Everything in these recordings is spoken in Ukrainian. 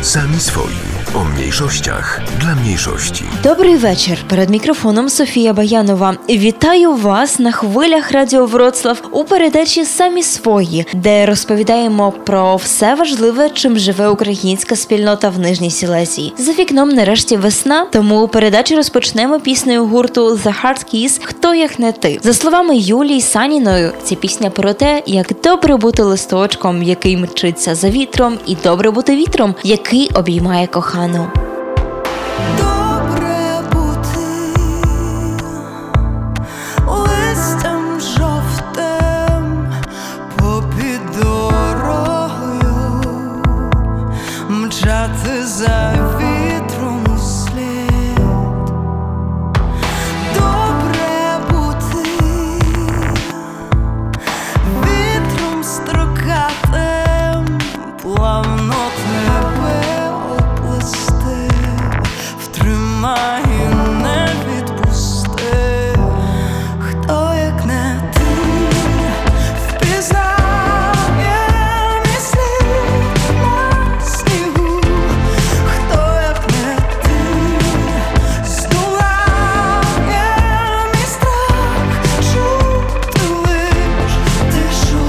Sami swoi. O mniejszościach dla mniejszości. Добрий вечір. Перед мікрофоном Софія Баянова. Вітаю вас на хвилях Радіо Вроцлав у передачі «Самі свої», де розповідаємо про все важливе, чим живе українська спільнота в Нижній Сілезії. За вікном нарешті весна, тому передачу розпочнемо піснею гурту The Hard Keys «Хто як не ти». За словами Юлії Саніною, ця пісня про те, як добре бути листочком, який мчиться за вітром, і добре бути вітром, який обіймає кохану. Добре бути листям жовтим попід дорогою, мчати за вітром услід. Добре бути вітром строкатим, плавно тебе втримай і не відпусти. Хто як не ти впізнає мій слід на снігу. Хто як не ти здолає мій страх, чути лиш тишу.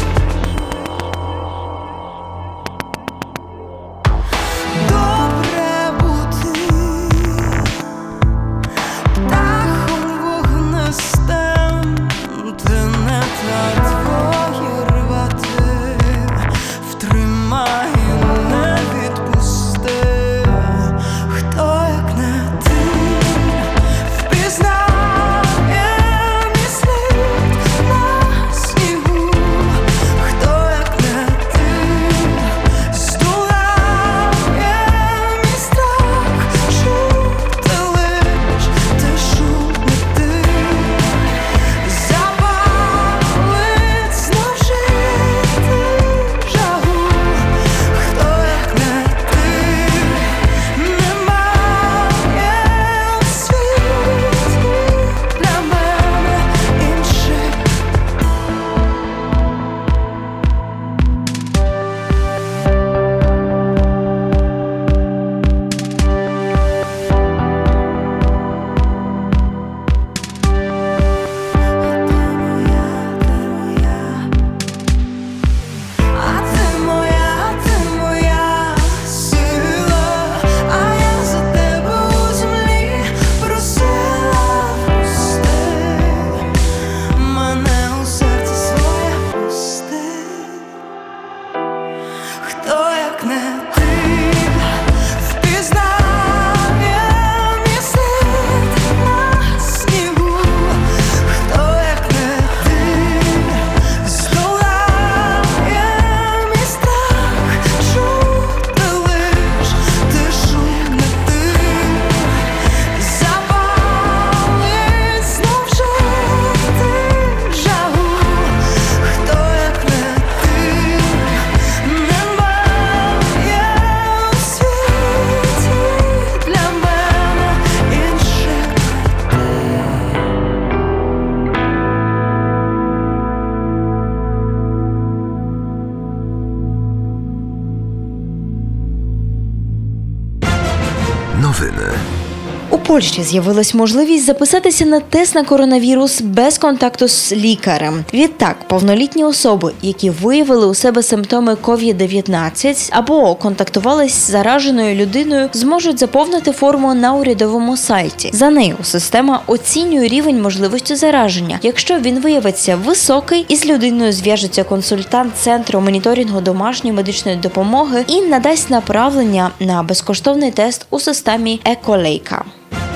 У Польщі з'явилась можливість записатися на тест на коронавірус без контакту з лікарем. Відтак, повнолітні особи, які виявили у себе симптоми COVID-19 або контактували з зараженою людиною, зможуть заповнити форму на урядовому сайті. За нею система оцінює рівень можливості зараження. Якщо він виявиться високий, із людиною зв'яжеться консультант Центру моніторингу домашньої медичної допомоги і надасть направлення на безкоштовний тест у системі Еколейка.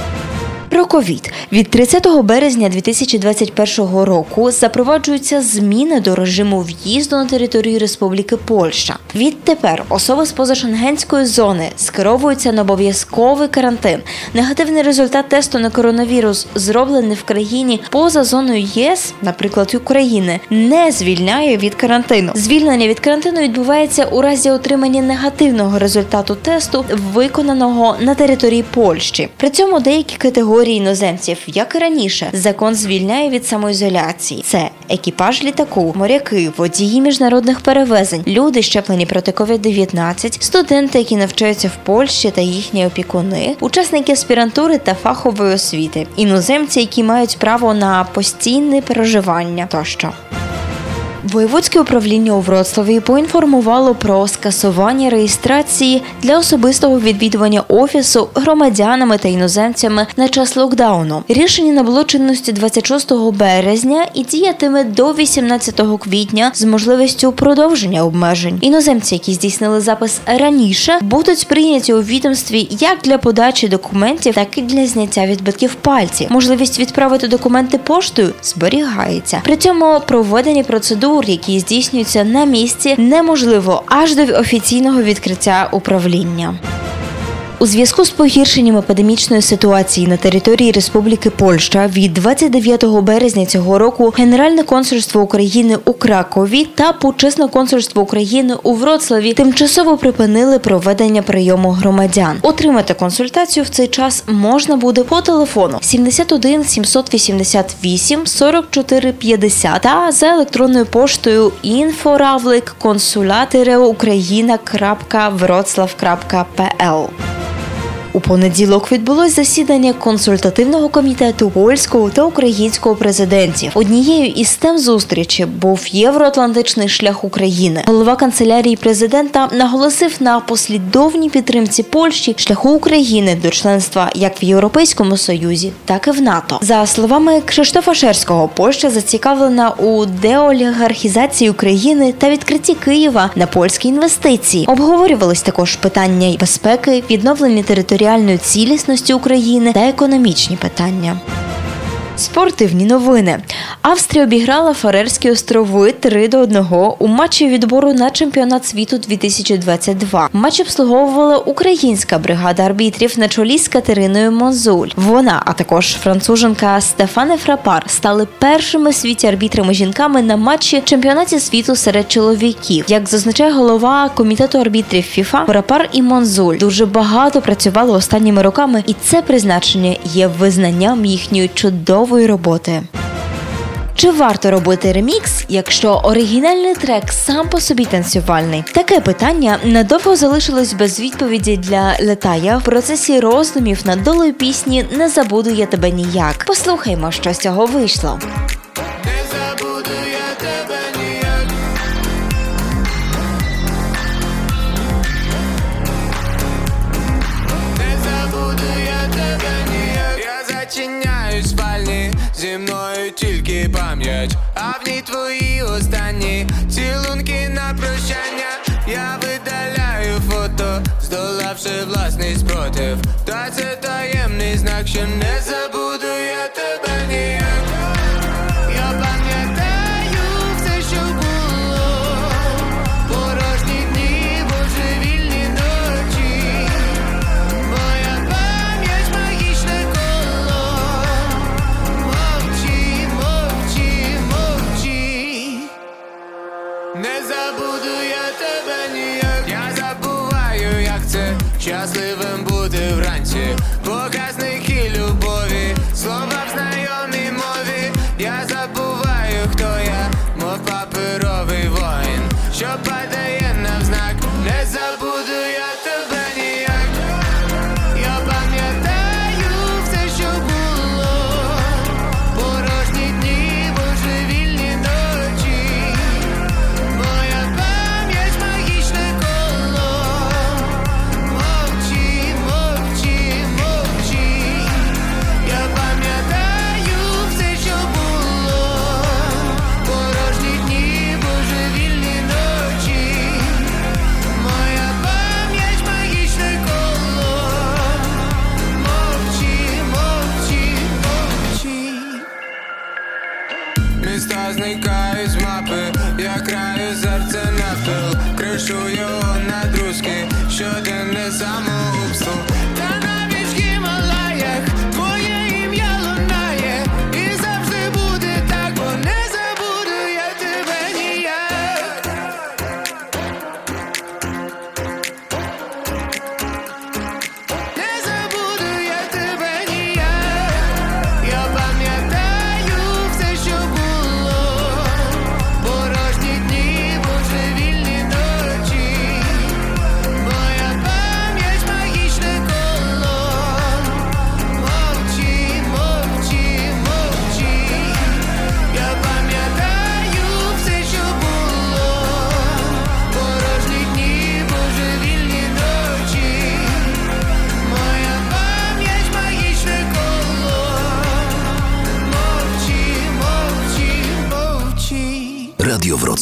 Про ковід. Від 30 березня 2021 року запроваджуються зміни до режиму в'їзду на територію Республіки Польща. Відтепер особи з позашенгенської зони скеровуються на обов'язковий карантин. Негативний результат тесту на коронавірус, зроблений в країні поза зоною ЄС, наприклад, України, не звільняє від карантину. Звільнення від карантину відбувається у разі отримання негативного результату тесту, виконаного на території Польщі. При цьому деякі категорії категорій іноземців, як і раніше, закон звільняє від самоізоляції. Це екіпаж літаку, моряки, водії міжнародних перевезень, люди, щеплені проти COVID-19, студенти, які навчаються в Польщі та їхні опікуни, учасники аспірантури та фахової освіти, іноземці, які мають право на постійне проживання тощо. Воєводське управління у Вроцлаві поінформувало про скасування реєстрації для особистого відвідування офісу громадянами та іноземцями на час локдауну. Рішення набуло чинності 26 березня і діятиме до 18 квітня з можливістю продовження обмежень. Іноземці, які здійснили запис раніше, будуть прийняті у відомстві як для подачі документів, так і для зняття відбитків пальців. Можливість відправити документи поштою зберігається. При цьому проведення процедур, які здійснюються на місці, неможливо аж до офіційного відкриття управління. У зв'язку з погіршенням епідемічної ситуації на території Республіки Польща від 29 березня цього року Генеральне консульство України у Кракові та Почесне консульство України у Вроцлаві тимчасово припинили проведення прийому громадян. Отримати консультацію в цей час можна буде по телефону 71 788 44 50 та за електронною поштою info@ukraina.wroclaw.pl. У понеділок відбулось засідання консультативного комітету польського та українського президентів. Однією із тем зустрічі був євроатлантичний шлях України. Голова канцелярії президента наголосив на послідовній підтримці Польщі шляху України до членства як в Європейському Союзі, так і в НАТО. За словами Кшиштофа Шерського, Польща зацікавлена у деолігархізації України та відкритті Києва на польські інвестиції. Обговорювались також питання безпеки, відновлення територіальної цілісності України та економічні питання. Спортивні новини. Австрія обіграла Фарерські острови 3-1 у матчі відбору на чемпіонат світу 2022. Матч обслуговувала українська бригада арбітрів на чолі з Катериною Монзуль. Вона, а також француженка Стефане Фрапар стали першими в світі арбітрами-жінками на матчі чемпіонаті світу серед чоловіків. Як зазначає голова комітету арбітрів ФІФА, Фрапар і Монзуль дуже багато працювали останніми роками, і це призначення є визнанням їхньої чудової роботи. Чи варто робити ремікс, якщо оригінальний трек сам по собі танцювальний? Таке питання надовго залишилось без відповіді для Летая в процесі роздумів над долею пісні «Не забуду я тебе ніяк». Послухаймо, що з цього вийшло. Не забуду я тебе ніяк. Не забуду я тебе ніяк. Я зачиняюсь в спальні, зі мною тільки пам'ять, а в ній твої останні цілунки на прощання. Я видаляю фото, здолавши власний спротив. Та це таємний знак, що не забуду я тебе ніяк. Я пам'ятаю все, що було, порожні дні, божевільні ночі. Моя пам'ять магічне коло. Мовчи, мовчи, мовчи. Не забуду я тебе ніяк. Я забуваю, як це щасливим бути вранці. Показники любові, слова в знайомій мові. Я забуваю, хто я, мов паперовий воїн, що падає навзнак. Не забуду я тебе ніяк. Я пам'ятаю все, що було, порожні дні, божевільні ночі. Моя пам'ять магічне коло. Мовчи, мовчи, мовчи. Я пам'ятаю все, що було, порожні дні, божевільні ночі. Моя пам'ять магічне коло. Мовчи, мовчи, мовчи. Міста зникають з мапи, я краю серце навпіл, кришу його на друзки, щоденне самогубство. Та навіть в Гімалаях твоє ім'я лунає, і завжди буде так, бо не забуду я тебе ніяк. Не забуду я тебе ніяк.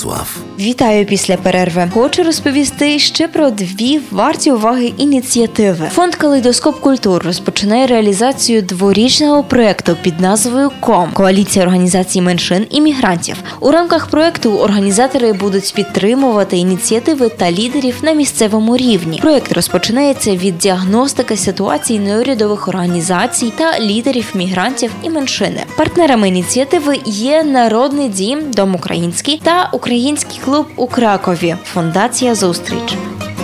В'ячеслав. Вітаю після перерви. Хочу розповісти ще про дві варті уваги ініціативи. Фонд «Калейдоскоп культур» розпочинає реалізацію дворічного проєкту під назвою «КОМ» – Коаліція організацій меншин і мігрантів. У рамках проєкту організатори будуть підтримувати ініціативи та лідерів на місцевому рівні. Проєкт розпочинається від діагностики ситуацій неурядових організацій та лідерів мігрантів і меншини. Партнерами ініціативи є Народний дім, Дом український та Український клуб у Кракові, Фундація «Зустріч».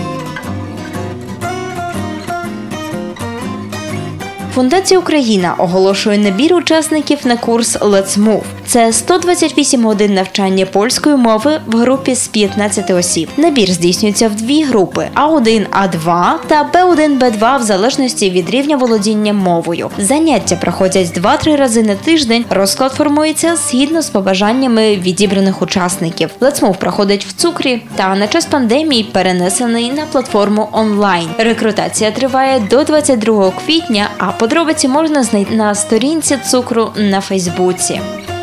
Фундація «Україна» оголошує набір учасників на курс «Let's Move». Це 128 годин навчання польської мови в групі з 15 осіб. Набір здійснюється в дві групи – А1, А2 та Б1, Б2 в залежності від рівня володіння мовою. Заняття проходять 2-3 рази на тиждень. Розклад формується згідно з побажаннями відібраних учасників. «Let's Move» проходить в Цукрі та на час пандемії перенесений на платформу онлайн. Рекрутація триває до 22 квітня, а подробиці можна знайти на сторінці Цукру на Фейсбуці.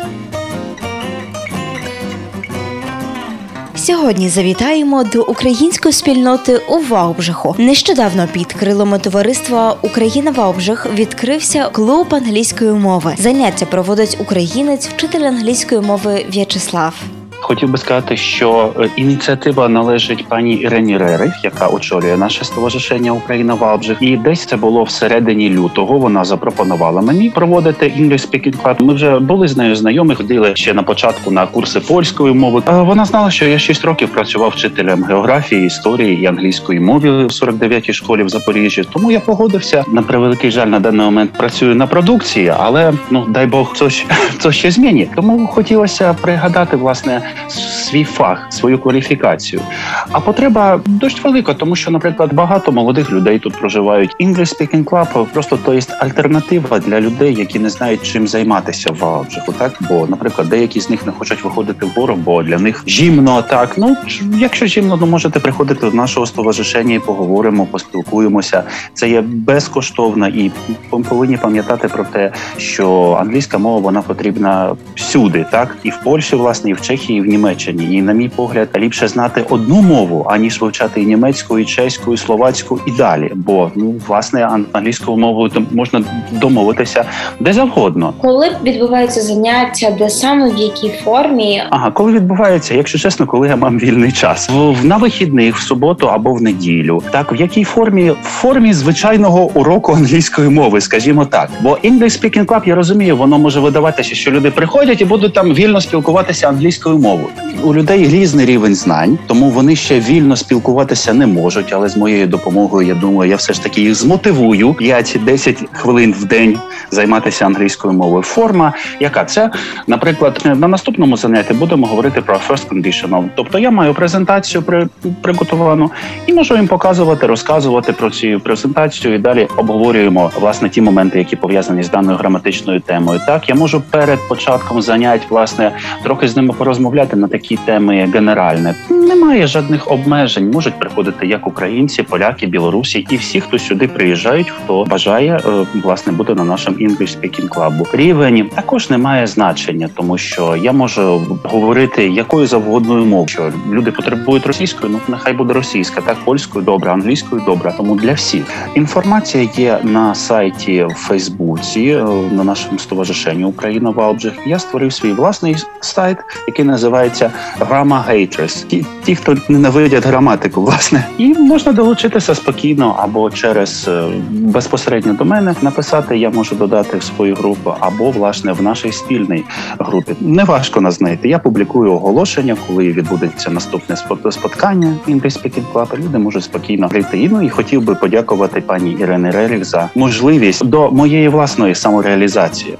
Сьогодні завітаємо до української спільноти у Ваубжиху. Нещодавно під крилами товариства «Україна Ваубжих» відкрився клуб англійської мови. Заняття проводить українець, вчитель англійської мови В'ячеслав. Хотів би сказати, що ініціатива належить пані Ірені Рерих, яка очолює наше стоваришення «Україна Ваубжих». І десь це було всередині лютого. Вона запропонувала мені проводити English Speaking Club. Ми вже були з нею знайомі, ходили ще на початку на курси польської мови. Вона знала, що я 6 років працював вчителем географії, історії і англійської мови в 49-й школі в Запоріжжі. Тому я погодився. На превеликий жаль, на даний момент працюю на продукції, але, дай Бог, це ще змінить. Тому хотілося пригадати, власне, свій фах, свою кваліфікацію. А потреба досить велика, тому що, наприклад, багато молодих людей тут проживають. English Speaking Club просто то є альтернатива для людей, які не знають, чим займатися в Ваубжиху, так? Бо, наприклад, деякі з них не хочуть виходити вгору, бо для них зимно, так? Якщо зимно, то можете приходити до нашого стоваришення і поговоримо, поспілкуємося. Це є безкоштовно і повинні пам'ятати про те, що англійська мова, вона потрібна всюди, так? І в Польщі, власне, і в Чехії, і в Німеччині. І, на мій погляд, ліпше знати одну мову, аніж вивчати і німецьку, і чеську, і словацьку, і далі. Бо, власне, англійською мовою можна домовитися де завгодно. Коли відбуваються заняття, де саме, в якій формі? Коли відбувається, якщо чесно, коли я мав вільний час. На вихідних, в суботу або в неділю. Так, в якій формі? В формі звичайного уроку англійської мови, скажімо так. Бо English Speaking Club, я розумію, воно може видаватися, що люди приходять і будуть там вільно спілкуватися англійською мовою. У людей різний рівень знань, тому вони ще вільно спілкуватися не можуть, але з моєю допомогою, я думаю, я все ж таки їх змотивую 5-10 хвилин в день займатися англійською мовою. Форма, яка це? Наприклад, на наступному занятті будемо говорити про first conditional. Тобто я маю презентацію приготовану і можу їм показувати, розказувати про цю презентацію і далі обговорюємо, власне, ті моменти, які пов'язані з даною граматичною темою. Так, я можу перед початком занять, власне, трохи з ними порозмовляти на такі теми генеральні. Немає жодних обмежень. Можуть приходити як українці, поляки, білорусі і всі, хто сюди приїжджають, хто бажає, власне, бути на нашому English Speaking Club. Рівень також не має значення, тому що я можу говорити якою завгодною мовою. Що люди потребують російською, нехай буде російська, так, польською добре, англійською добре, тому для всіх. Інформація є на сайті в Фейсбуці, на нашому стоваришенні «Україна Ваубжих». Я створив свій власний сайт, який називається Grammar Haters. Ті, хто ненавидять граматику, власне. І можна долучитися спокійно або через безпосередньо до мене написати, я можу додати в свою групу, або, власне, в нашій спільній групі. Неважко нас знайти. Я публікую оголошення, коли відбудеться наступне споткання English Speaking Club. Люди можуть спокійно прийти. І хотів би подякувати пані Ірені Рерих за можливість до моєї власної самореалізації.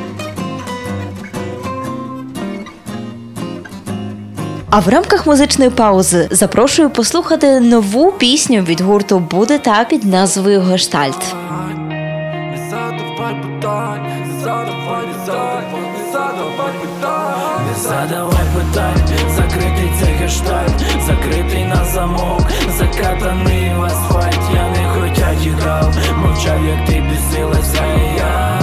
А в рамках музичної паузи запрошую послухати нову пісню від гурту «Буде та» під назвою «Гештальт». Задавай питань, закритий цей гештальт, закритий на замок, закатаний в асфальт. Я не хотя тікав, мовчав, як ти бісилася, і я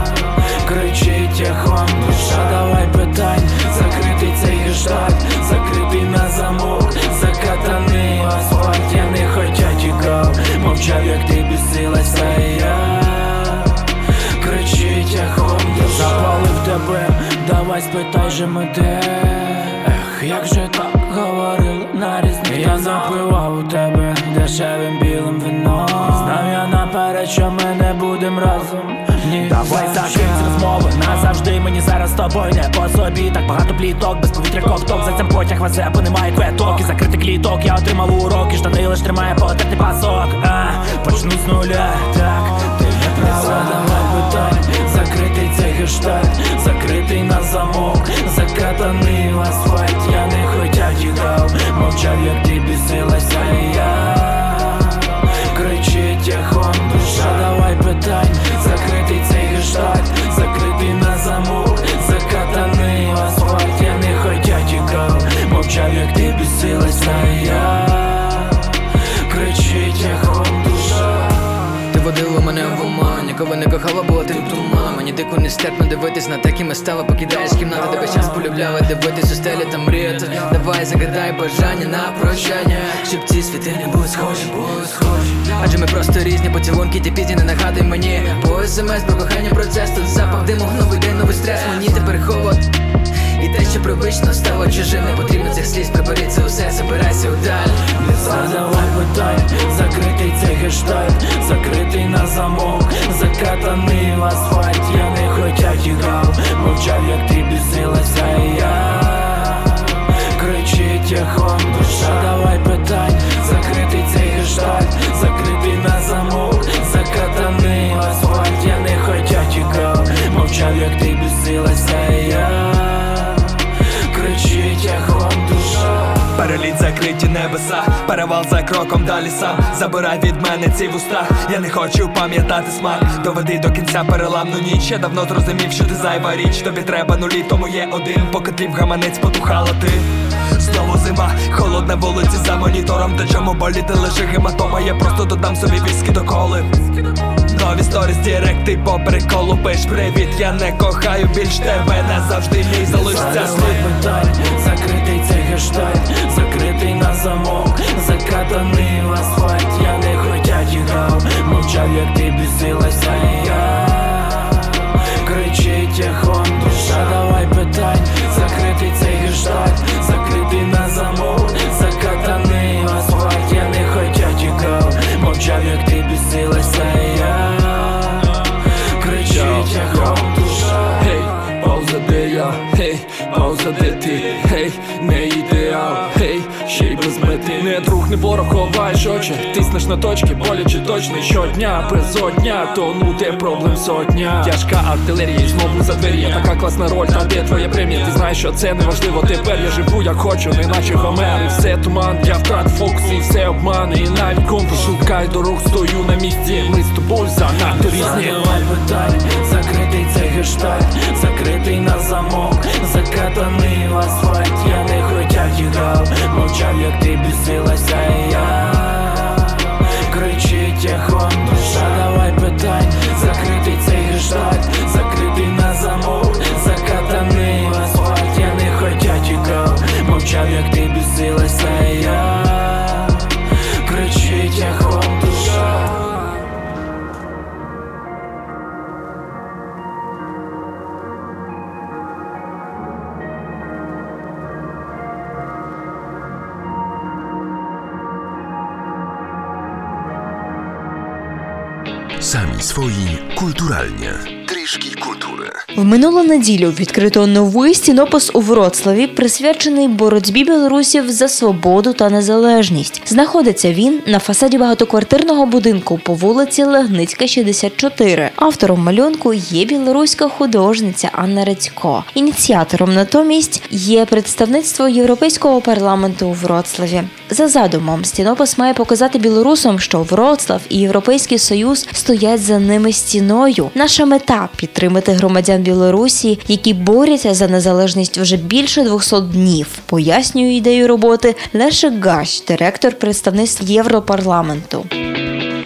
кричить, як вам душа. Давай питань, закритий цей гештальт, закритий же ми де? Як же так говорили на різні? Я запивав у тебе дешевим білим вином. Знав я наперед, що ми не будем разом. Ні, давай закинь розмови назавжди, мені зараз з тобою не по собі. Так багато пліток, без повітря ковток. За цим потяг везе, бо немає квиток. І закритий кліток, я отримав уроки. Штани лиш тримає потертий пасок. Почну з нуля, так, ти не права. Давай питань, закритий цей гештальт, закритий на замок, закатаний в асфальт. Я не хотя тікав, мовчав, як ти бісилася, і я кричить тихо душа. Давай питань, закритий цей гештальт, закритий на замок, закатаний в асфальт. Я не хотя тікав, мовчав, як ти бісилася, і я кричить тихо душа. Ти водила мене в оман, нікого не кохала, була ти туман. Мені дико нестерпно дивитись на те, ким я стала. Покидаєш кімнату, тебе час полюбляла дивитись у стелі та мріяти. Давай загадай бажання на прощання, щоб ці світи не були схожі, Адже ми просто різні, поцілунки ті пізні, не нагадуй мені. По смс про кохання процес, тут запах диму, новий день, новий стрес. Мені тепер холод, і те, що привично стало чужим. Не потрібно цих сліз, прибери це усе, забирайся вдаль. Задавай питань, закритий цей гештальт, закритий на замок, закатаний в асфальт. Я не хотя тікав, мовчав, як ти бісилася, і я кричить тихо душа. Давай питань, закритий цей гештальт, закритий на замок, закатаний в асфальт. Я не хотя тікав, мовчав, як ти бісилася, і я кричить тихо душа. Переліт закриті небеса, перевал за кроком далі сам. Забирай від мене ці вуста, я не хочу пам'ятати смак. Доведи до кінця переламну ніч, я давно зрозумів, що ти зайва річ. Тобі треба нулі, тому є один, поки тлів гаманець потухала ти. Знову зима, холодна вулиця за монітором, та чому боліти лише гематома. Я просто додам собі віскі до коли. Нові сторіс, директи по приколу, пиш привіт, я не кохаю більш тебе, назавжди мій залишиться слід. Закритий цей гештальт, закритий на замок, закатаний в асфальт. Я не хотя тікав, мовчав, як ти бісилася, і я кричить тихо душа. Давай питань, закритий цей гештальт, закритий на замок, закатаний в асфальт. Я не хотя тікав, мовчав, як ти бісилася, і я кричить тихо душа. Гей, пауза де я, гей, пауза де ти, гей, не ідеал, гей, ще й без мети. Не друг, не ворог, ховаєш очі, тиснеш на точки, боляче точно щодня, безодня, тонути проблем сотня. Тяжка артилерія і знову за двері, я така класна роль, та де твоя премія? Ти знаєш, що це неважливо, тепер я живу як хочу, не наче Гомер. І все туман, я втрат фокус і все обман. І навіть компас шукай дорог, стою на місці, ми з тобою занадто різні. Задавай питань, закритий цей гештальт, закритий на замок, закатаний в асфальт. Я не хотя тікав, мовчав, як ти бісилася, і я кричить тихо душа. Давай питань, закритий цей гештальт, закритий на замок, закатаний в асфальт. Я не хотя тікав, мовчав, як ти бісилася, і я кричить тихо душа. Sami swoi kulturalnie. Трішки культури. В минулу неділю відкрито новий стінопис у Вроцлаві, присвячений боротьбі білорусів за свободу та незалежність. Знаходиться він на фасаді багатоквартирного будинку по вулиці Легницька, 64. Автором малюнку є білоруська художниця Анна Рецько. Ініціатором натомість є представництво Європейського парламенту у Вроцлаві. За задумом, стінопис має показати білорусам, що Вроцлав і Європейський Союз стоять за ними стіною. Наша мета – підтримати громадян Білорусі, які борються за незалежність вже більше 200 днів, пояснює ідею роботи Лешек Гащ, директор представництв Європарламенту.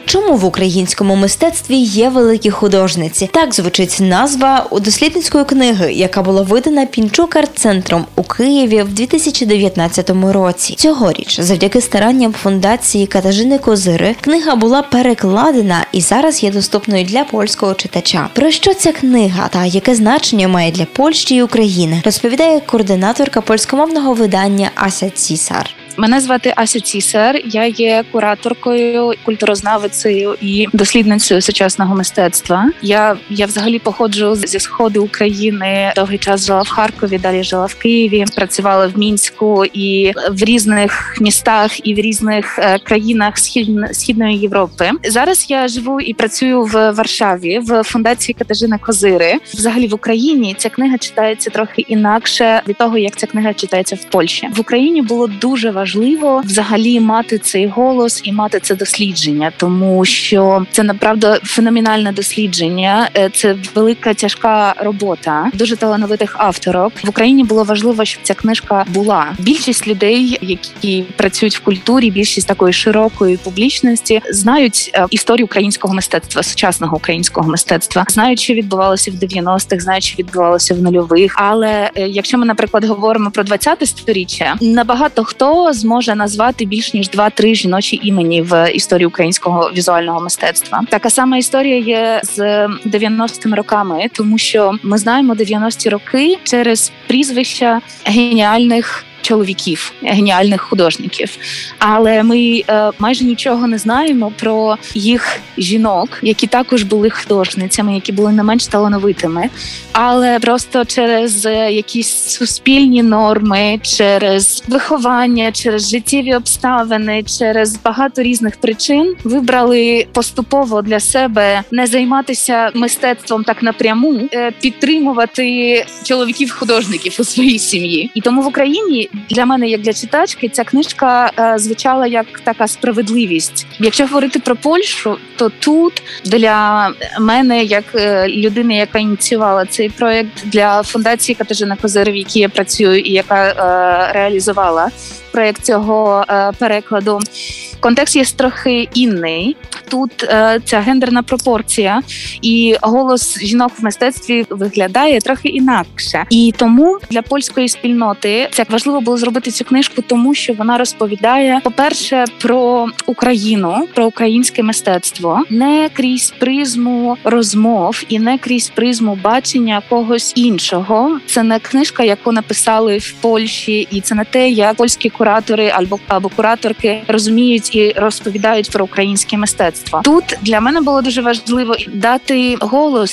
Чому в українському мистецтві є великі художниці? Так звучить назва у дослідницької книги, яка була видана Пінчук арт-центром у Києві в 2019 році. Цьогоріч, завдяки старанням фундації Катажини Козири, книга була перекладена і зараз є доступною для польського читача. Про що ця книга та яке значення має для Польщі і України, розповідає координаторка польськомовного видання Ася Цісар. Мене звати Ася Цісар, я є кураторкою, культурознавицею і дослідницею сучасного мистецтва. Я взагалі походжу зі сходу України, довгий час жила в Харкові, далі жила в Києві, працювала в Мінську і в різних містах і в різних країнах Східної Європи. Зараз я живу і працюю в Варшаві, в фундації Катажини Козири. Взагалі в Україні ця книга читається трохи інакше від того, як ця книга читається в Польщі. В Україні було дуже важливо взагалі мати цей голос і мати це дослідження, тому що це направду феноменальне дослідження, це велика тяжка робота дуже талановитих авторок. В Україні було важливо, щоб ця книжка була. Більшість людей, які працюють в культурі, більшість такої широкої публічності, знають історію українського мистецтва, сучасного українського мистецтва, знають, що відбувалося в 90-х, знають, що відбувалося в нульових. Але якщо ми, наприклад, говоримо про 20-те сторіччя, набагато хто зможе назвати більш ніж 2-3 жіночі імені в історії українського візуального мистецтва. Така сама історія є з 90-ми роками, тому що ми знаємо 90-ті роки через прізвища геніальних чоловіків, геніальних художників. Але ми майже нічого не знаємо про їх жінок, які також були художницями, які були не менш талановитими. Але просто через якісь суспільні норми, через виховання, через життєві обставини, через багато різних причин вибрали поступово для себе не займатися мистецтвом так напряму, підтримувати чоловіків-художників у своїй сім'ї. І тому в Україні для мене, як для читачки, ця книжка звучала як така справедливість. Якщо говорити про Польщу, то тут для мене, як людини, яка ініціювала цей проєкт, для фундації Катажини Козири, в якій я працюю і яка реалізувала проєкт цього перекладу, контекст є трохи інний. Тут ця гендерна пропорція і голос жінок в мистецтві виглядає трохи інакше. І тому для польської спільноти це важливо було зробити цю книжку, тому що вона розповідає, по-перше, про Україну, про українське мистецтво, не крізь призму розмов і не крізь призму бачення когось іншого. Це не книжка, яку написали в Польщі, і це не те, як польські куратори або кураторки розуміють і розповідають про українське мистецтво. Тут для мене було дуже важливо дати голос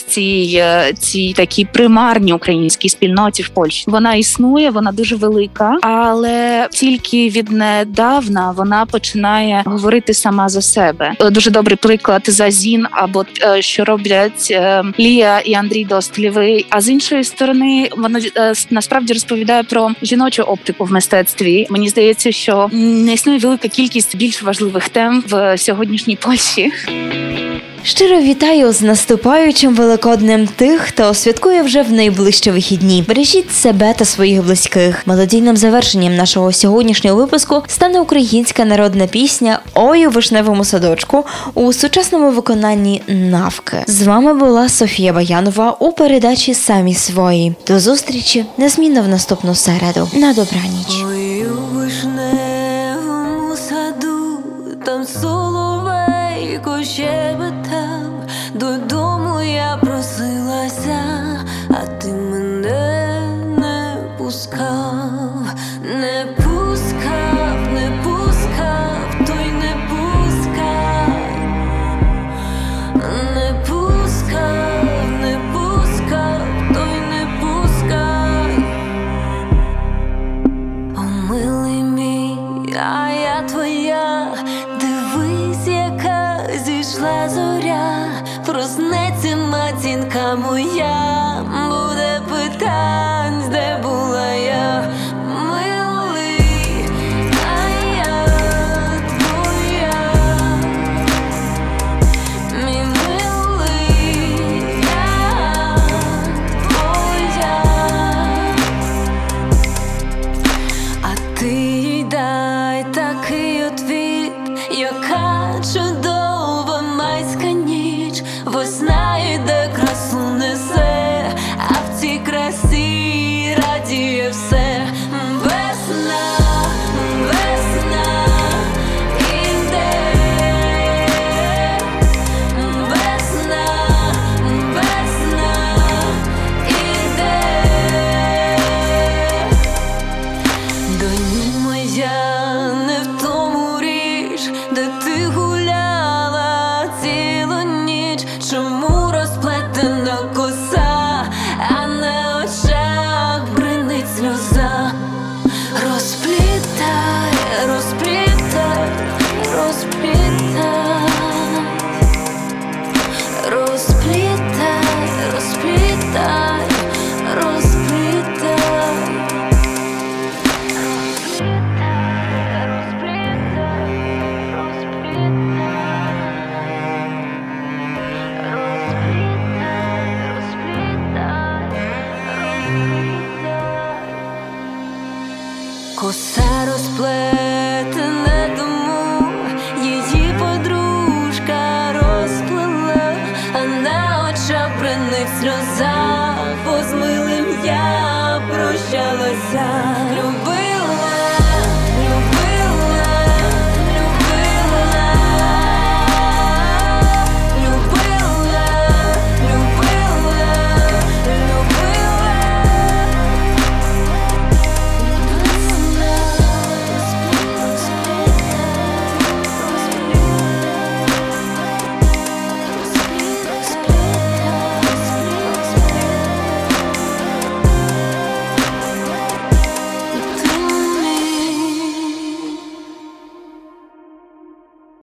цій такій примарній українській спільноті в Польщі. Вона існує, вона дуже велика, але тільки віднедавна вона починає говорити сама за себе. Дуже добрий приклад Зазін, або що роблять Лія і Андрій Достлєвий. А з іншої сторони, вона насправді розповідає про жіночу оптику в мистецтві. Мені здається, що не існує велика кількість більш важливих тем в сьогоднішній Польщі. Щиро вітаю з наступаючим Великоднем тих, хто святкує вже в найближчі вихідні. Бережіть себе та своїх близьких. Мелодійним завершенням нашого сьогоднішнього випуску стане українська народна пісня «Ой у вишневому садочку» у сучасному виконанні «Навки». З вами була Софія Баянова у передачі «Самі свої». До зустрічі незмінно в наступну середу. На добраніч. Ой у вишневому саду, там соловейко щебетав, додому я просилася, а ти мене не пускав, не пускав, не пускав, той не пускав, не пускав, не пускав, той не пускав. О, милий мій, а я твоя, дивись, яка зійшла зоря, проснеться матінка моя, буде питань, де була я, милий, а я твоя, мій милий, я твоя, а ти їй дай такий отвіт, яка чудова весна.